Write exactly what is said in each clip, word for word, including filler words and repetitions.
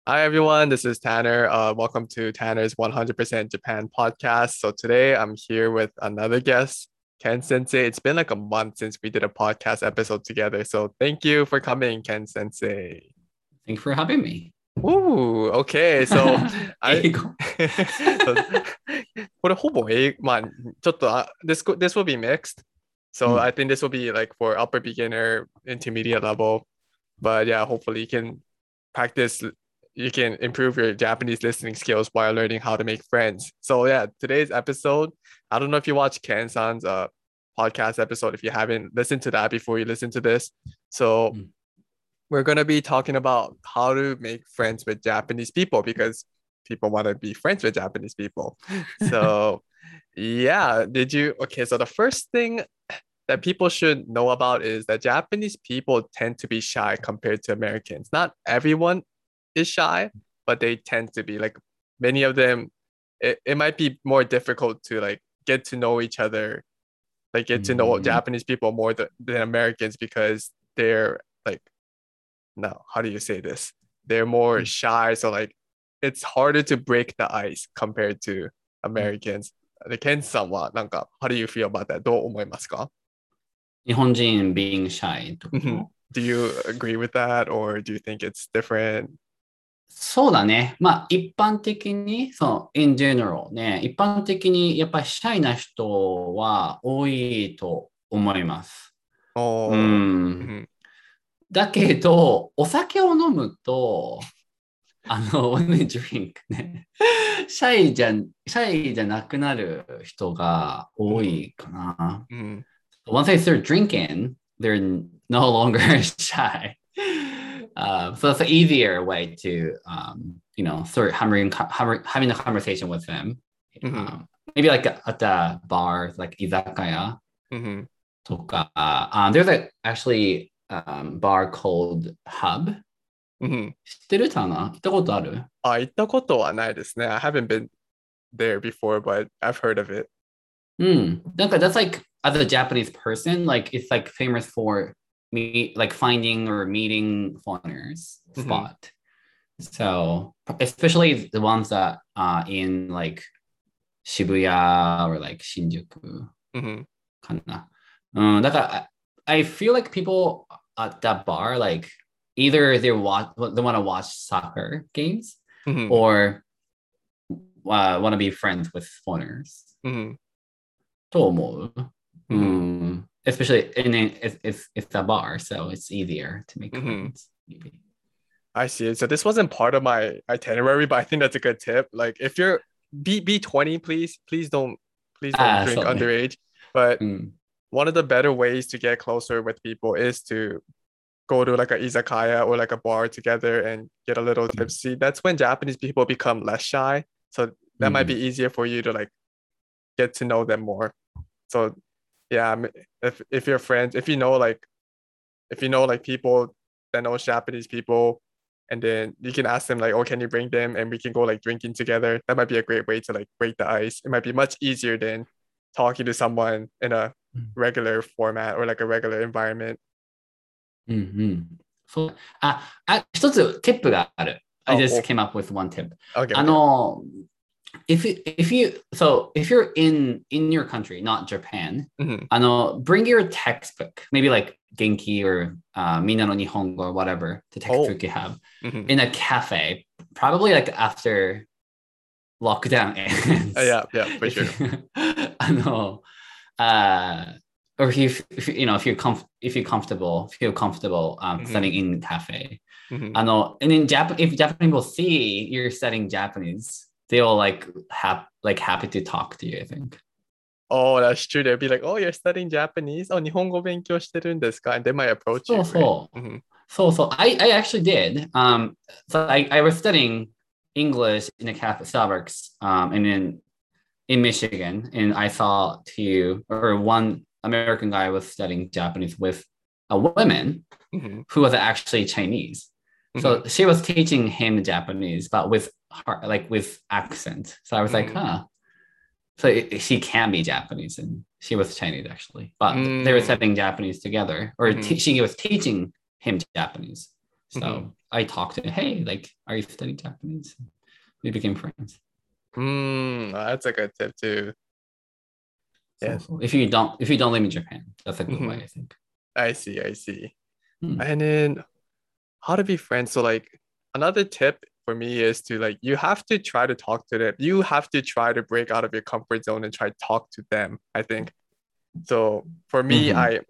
Hi everyone, this is Tanner. Uh, welcome to Tanner's one hundred percent Japan podcast. So today I'm here with another guest, Ken Sensei. It's been like a month since we did a podcast episode together. So thank you for coming, Ken Sensei. Thank you for having me. Ooh, okay. So I 英語 so これほぼ英まあちょっとあ this co- this will be mixed. う So I ん think this will be like for upper beginner, intermediate level. But yeah, hopefully you can practice, you can improve your Japanese listening skills while learning how to make friends. So yeah, today's episode, I don't know if you watched Ken-san's uh podcast episode, if you haven't listened to that before you listen to this. う So ん we're going to be talking about how to make friends with Japanese people because people want to be friends with Japanese people. So yeah, did you okay, so the first thing that people should know about is that Japanese people tend to be shy compared to Americans. Not everyone is shy, but they tend to be like many of them. It, it might be more difficult to like get to know each other, like う get to know ん Japanese people more th- than Americans because they're like, no, how do you say this? They're う more ん shy. So like it's harder to break the ice compared to うん Americans. で、ケンさんはなんか、how do you feel about that? どう思いますか？ 日本人 being shy ってこ Mhm. と Do you agree with that or do you think it's different? そうだね。まあ一般的に、そう、in general ね、一般的にやっぱりシャイな人は多いと思います。う Oh, ん。 mhm. だけど、お酒を飲むと、あの、when we drink ね、シャイじゃ、シャイじゃなくなる人が多 Mhm. いかな。 Mhm. Once they start drinking, they're no longer shy. Uh, so it's an easier way to, um, you know, start having, having a conversation with them. Mhm. Um, maybe like at a bar, like izakaya Mhm. とか. Um, there's a, actually um, bar called Hub. Mhm. 知ってるかな？行ったことある？ あ、行ったことはないですね. I haven't been there before, but I've heard of it. うん。なんか that's like as a Japanese person, like it's like famous for me like finding or meeting foreigners Mhm. spot. So especially the ones that uh in like Shibuya or like Shinjuku Mhm. かな。うん、だから I, I feel like people at that bar like either they watch they want to watch soccer games Mhm. or uh, want to be friends with foreigners. Mhm. と思う。う Mhm. ん。Especially in a, it's, it's, it's a bar, so it's easier to make Mhm. friends. Maybe. I see it. So this wasn't part of my itinerary, but I think that's a good tip. Like if you're be be twenty, please, please don't please don't ああ、 drink そうね。 underage. But うん。 one of the better ways to get closer with people is to go to like a izakaya or like a bar together and get a little うん。 tipsy. That's when Japanese people become less shy. So う that might be ん。 easier for you to like get to know them more. So yeah, m- if if you're friends, if you know like if you know like people that know Japanese people, and then you can ask them like, oh, can you bring them and we can go like drinking together. That might be a great way to like break the ice. It might be much easier than talking to someone in a うん。 regular format or like a regular environment. うん。うん。そう。あ、あ、一つ、ティップがある。I Oh, just cool. came up with one tip. Okay, あ okay. の、if you, if you, so if you're in, in your country, not Japan, Mhm. あの、bring your textbook, maybe like Genki or uh, みんなの日本語 or whatever, the Oh. textbook you have, Mhm. in a cafe, probably like after lockdown Uh, ends. yeah, yeah, for If sure. you, あの、uh, or if you, if you, you know, if you're comf- if you're comfortable, feel comfortable um, Mhm. studying in cafe. Mhm. あの、and in Japan, if Japanese people see you're studying Japanese, they'll like have like happy to talk to you, I think. Oh, that's true. They'd be like, oh, you're studying Japanese? Oh, 日本語勉強してるんですか? And they might approach そう you, right? そう。 Mhm. そうそう。I, I actually did. Um, so I, I was studying English in a cafe Starbucks um, and in in Michigan, and I saw two or one American guy was studying Japanese with a woman Mhm. who was actually Chinese. Mhm. So she was teaching him Japanese, but with her, like with accent. So I was like, Mhm. huh. So it, she can be Japanese, and she was Chinese actually. But they were Mm. studying Japanese together, or Mhm. te- she was teaching him Japanese. So Mhm. I talked to him, hey, like, are you studying Japanese? We became friends. Mm, that's a good tip too. So, Yeah. so if you don't if you don't live in Japan, that's a good way, Mhm. I think. I see, I see. Hmm. And then how to be friends. So like another tip for me is to like you have to try to talk to them. You have to try to break out of your comfort zone and try to talk to them, I think. So for me, Mm-hmm. I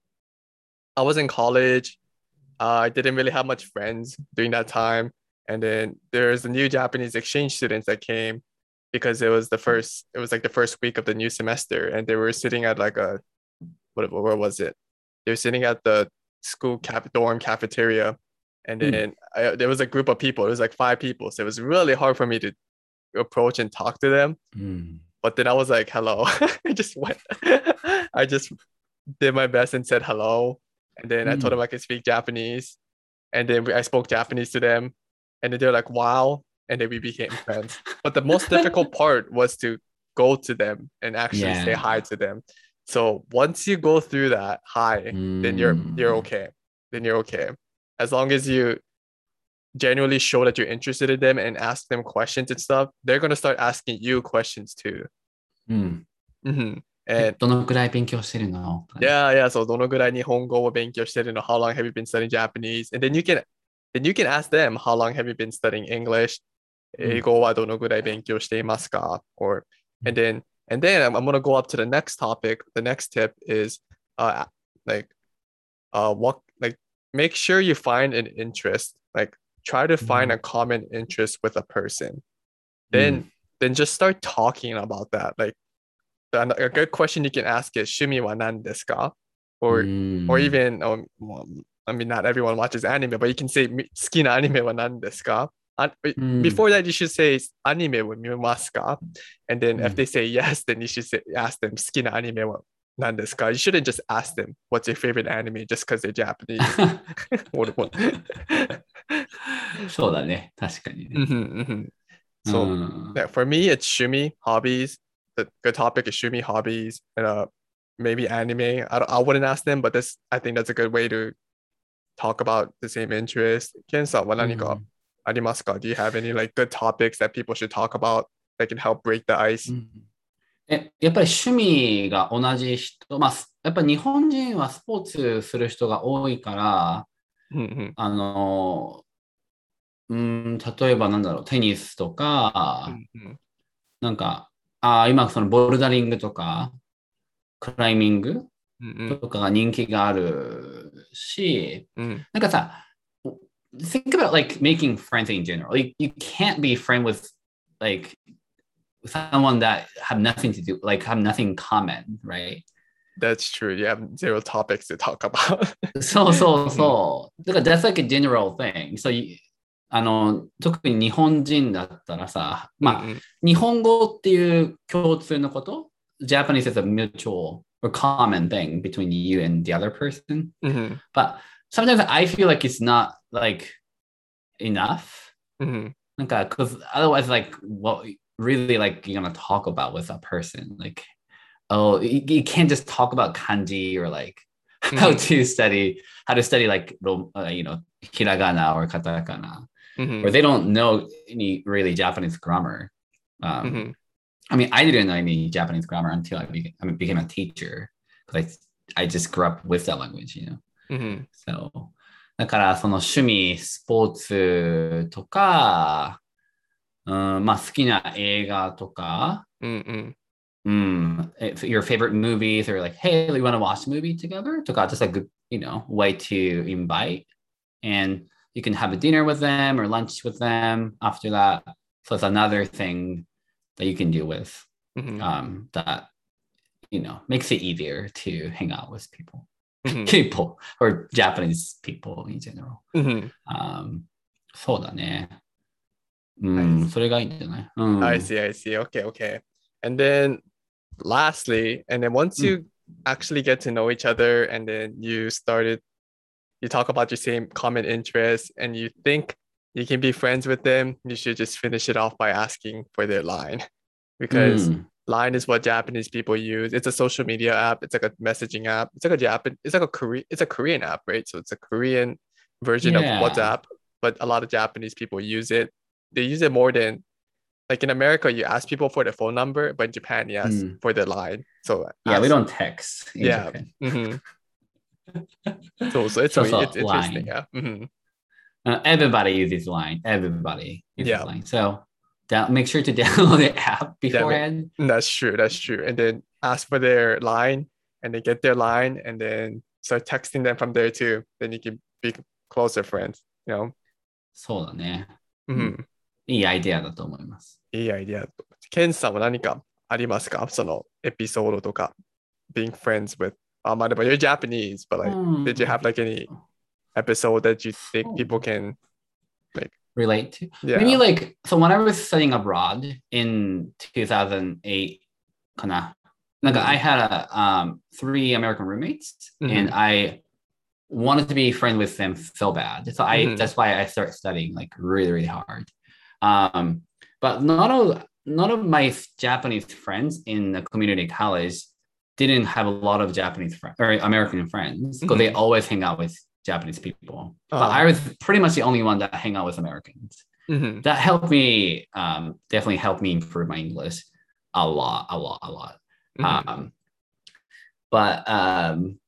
I was in college. Uh, I didn't really have much friends during that time. And then there's the new Japanese exchange students that came because it was the first, it was like the first week of the new semester. And they were sitting at like a, what, where was it? They were sitting at the school cap dorm cafeteria. And Mm. then I, there was a group of people, it was like five people. So it was really hard for me to approach and talk to them. Mm. But then I was like, hello. I just went, I just did my best and said hello. And then I told them Mm. I could speak Japanese. And then we, I spoke Japanese to them. And then they're like, wow. And then we became friends. But the most difficult part was to go to them and actually say hi Yeah. to them. So once you go through that hi, then you're you're Mm. okay. Then you're okay. As long as you genuinely show that you're interested in them and ask them questions and stuff, they're gonna start asking you questions too. うん。 Mhm. え、 And どのくらい勉強してるのとかね。 yeah, yeah. So どのぐらい日本語を勉強してるの? How long have you been studying Japanese? And then you can then you can ask them, how long have you been studying English? うん。 英語はどのぐらい勉強していますか? Or and then and then I'm, I'm gonna go up to the next topic. The next tip is uh like uh what like make sure you find an interest. Like try to う find a ん。 common interest with a person. うん。 Then then just start talking about that. Like a good question you can ask is 趣味は何ですか? う Or or ん。 even um, well, I mean not everyone watches anime, but you can say 好きなアニメは何ですか? And before that you should say アニメを見ますか? And then う if ん。 they say yes, then you should say ask them 好きなアニメは何ですか? You shouldn't just ask them what's your favorite anime just because they're Japanese. What- what- そうだね。確かにね。 Mhm, mhm. う So ん。 yeah, for me, it's shumi hobbies. The good topic is shumi hobbies and uh maybe anime. I, don't- I wouldn't ask them, but this I think that's a good way to talk about the same interest. Ken-san, う wa何かん。 arimasu ka? Do you have any like good topics that people should talk about that can help break the う ice? ん。え、やっぱり趣味が同じ人、まあ、やっぱり日本人はスポーツする人が多いから、 Mhm, あの、うん、例えばなんだろう、テニスとか、 mhm, なんか、あ、今そのボルダリングとか、クライミング mhm, とかが人気があるし、 mhm, なんかさ、think about like making friends in general. Like, you can't be friend with like someone that have nothing to do, like have nothing in common, right? That's true. You have zero topics to talk about. そうそう Mhm, そう。だから that's like a general thing. So you, あの、特に日本人だったらさ、まあ、 mhm, 日本語っていう共通のこと、Japanese is a mutual or common thing between you and the other person. mhm, But sometimes I feel like it's not like enough. mhm, なんか、because otherwise, like, what really like you're gonna talk about with a person, like, oh, you, you can't just talk about kanji or like how mhm, to study, how to study like, uh, you know, hiragana or katakana, or mhm, they don't know any really Japanese grammar. Um, mhm, I mean, I didn't know any Japanese grammar until I became, I mean, became a teacher because I, I just grew up with that language, you know. mhm, So, だからその趣味、スポーツとか、うん、まあ好きな映画とか、 mhm, mm, if your favorite movies or like, hey, we want to watch a movie together, to just a good, you know, way to invite. And you can have a dinner with them or lunch with them after that. So it's another thing that you can do with mhm, um, that, you know, makes it easier to hang out with people, mhm, people or Japanese people in general. mhm. Um, そうだね。う I ん、それがいいんじゃないう I ん。 see, I see. Okay, okay. And then lastly, and then once うん。 you actually get to know each other and then you started, you talk about your same common interests and you think you can be friends with them, you should just finish it off by asking for their line う because ん。 Line is what Japanese people use. It's a social media app. It's like a messaging app. It's like a Japan. It's like a Korean. It's a Korean app, right? So it's a Korean version of Yeah. WhatsApp, but a lot of Japanese people use it. They use it more than like in America, you ask people for their phone number, but in Japan, you ask Mm. for their line. So Yeah, we ask, don't text in yeah. Japan. hmm So so it's So weird. so It's interesting. line. Yeah. hmm Uh, everybody uses line. Everybody uses Yeah. line. So down, make sure to download the app Damn it. beforehand. That's true. That's true. And then ask for their line and they get their line and then start texting them from there too. Then you can be closer friends, you know? そうだね。うん。 うん。 いいアイデアだと思います。 いいアイディア。ケンさんは何かありますかそのエピソードとか、being friends with, あ、まあでも you're Japanese, but う like, ん。 did you have like any episode that you think そう people can like, relate to. Maybe yeah. like so when I was studying abroad in two thousand eight かな. Like Mhm. I had a, um, three American roommates and Mhm. I wanted to be friends with them so bad. So I Mhm. that's why I started studying like really, really hard. Um, but not all none of my Japanese friends in the community college didn't have a lot of Japanese friends or American friends because they Mhm. always hang out with Japanese people. But Uh, I was pretty much the only one that hang out with Americans. mhm. That helped me, um, definitely helped me improve my English a lot, a lot, a lot. Mhm. Um, but um,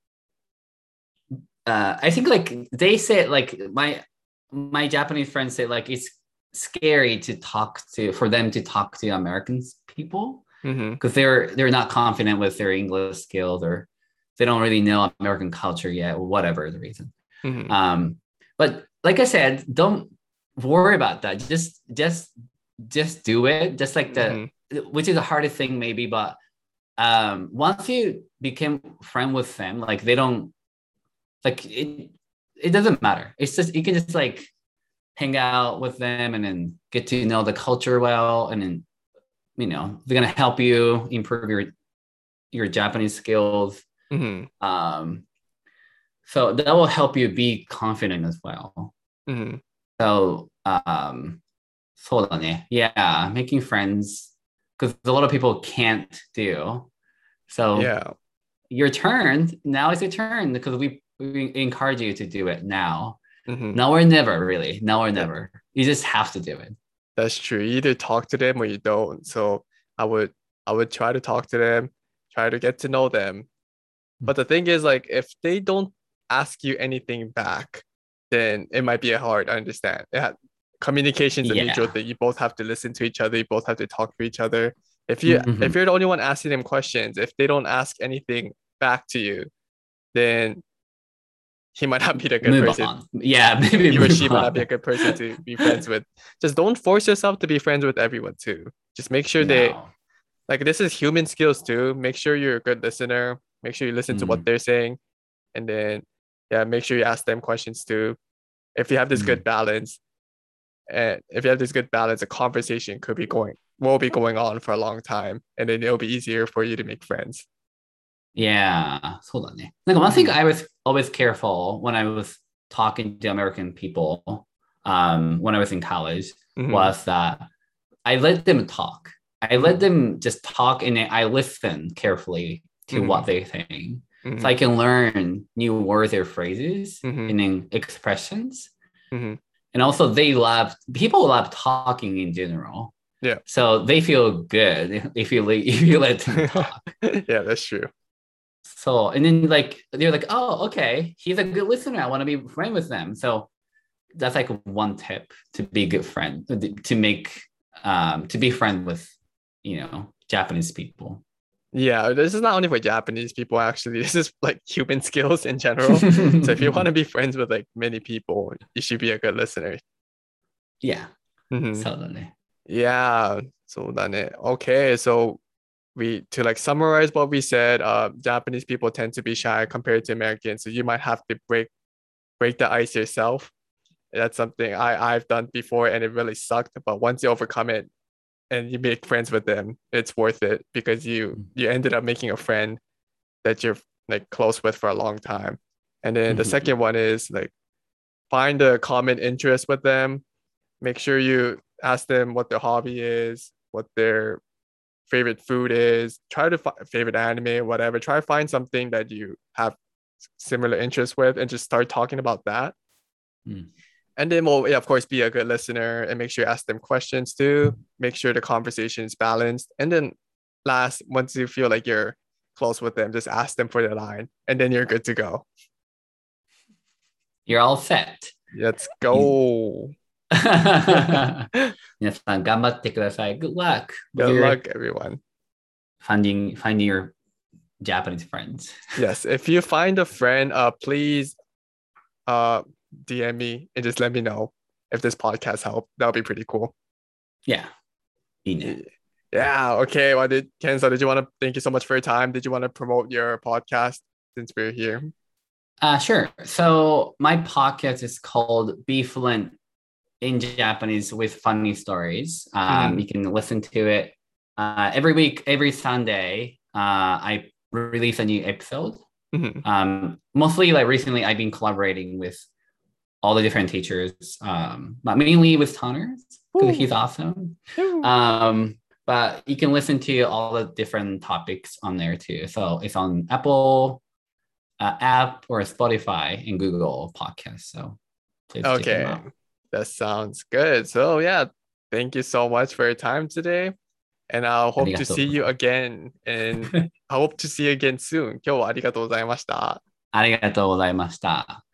uh, I think like they said, like my my Japanese friends say, like it's scary to talk to for them to talk to Americans people Mhm. because they're they're not confident with their English skills or they don't really know American culture yet, or whatever the reason. Mhm. Um, but like I said, don't worry about that. Just just just do it. Just like the Mhm. which is the hardest thing maybe, but um once you become friend with them, like they don't like it it doesn't matter. It's just you can just like hang out with them and then get to know the culture well and then you know they're gonna help you improve your your Japanese skills. Mhm. Um so that will help you be confident as well. Mhm. So um そうだね. Yeah, making friends because a lot of people can't do. So Yeah. your turn. Now is your turn because we, we encourage you to do it now. Mhm. Now or never, really. Now or That, never. You just have to do it. that's true. You either talk to them or you don't. So I would I would try to talk to them, try to get to know them. But the thing is, like, if they don't ask you anything back, then it might be hard. I understand. Yeah, communication is a mutual Yeah. thing. You both have to listen to each other. You both have to talk to each other. If you if Mm-hmm. you're the only one asking them questions, if they don't ask anything back to you, then he might not be the good Move person. on. Yeah, maybe He or move she might not be a on. good person to be friends with. Just don't force yourself to be friends with everyone too. Just make sure they No. like this is human skills too. Make sure you're a good listener. Make sure you listen to what Mm, they're saying. And then yeah, make sure you ask them questions too. If you have this good mm. balance, and if you have this good balance, a conversation could be going will be going on for a long time. And then it'll be easier for you to make friends. Yeah. そうだね. Like one thing Mhm. I was always careful when I was talking to American people um, when I was in college Mhm. was that I let them talk. I let Mhm. them just talk and I listen carefully to what Mhm. they think. So I Mhm. can learn new words or phrases Mhm. and then expressions. Mhm. And also they love people love talking in general. Yeah. So they feel good if you let, if you let them talk. Yeah, that's true. So and then like they're like, oh, okay, he's a good listener. I want to be friend with them. So that's like one tip to be a good friend, to make um to be friend with, you know, Japanese people. Yeah, this is not only for Japanese people, actually. This is like human skills in general. So if you want to be friends with like many people, you should be a good listener. Yeah. Mhm. そうだね. Yeah, そうだね. Okay, so we to like summarize what we said, uh, Japanese people tend to be shy compared to Americans, so you might have to break break the ice yourself. That's something I I've done before, and it really sucked. But once you overcome it and you make friends with them, it's worth it because you you ended up making a friend that you're like close with for a long time. And then the Mhm. second one is like find a common interest with them. Make sure you ask them what their hobby is, what their favorite food is. Try to find favorite anime, whatever. Try to find something that you have similar interests with, and just start talking about that. Mm. And then, well, yeah, of course, be a good listener and make sure you ask them questions too. Make sure the conversation is balanced. And then last, once you feel like you're close with them, just ask them for the line and then you're good to go. You're all set. Let's go. 皆さん頑張ってください. Good luck. Good with your luck, everyone. Finding, finding your Japanese friends. Yes, if you find a friend, uh, please uh, D M me and just let me know if this podcast helped. That would be pretty cool. Yeah. いいね. Yeah, okay. Well, did Kenzo, did you want to thank you so much for your time? Did you want to promote your podcast since we're here? Uh, sure. So my podcast is called Be Fluent in Japanese with Funny Stories. Um, Mhm. You can listen to it uh, every week, every Sunday. Uh, I release a new episode. Mhm. Um, mostly, like recently, I've been collaborating with all the different teachers, um, but mainly with Tanner because he's awesome. Woo. Um, but you can listen to all the different topics on there too. So it's on Apple uh, app or Spotify and Google Podcasts. So please check them Okay, out. that sounds good. So yeah, thank you so much for your time today. And I hope to see you again. And I hope to see you again soon. 今日はありがとうございました。 ありがとうございました。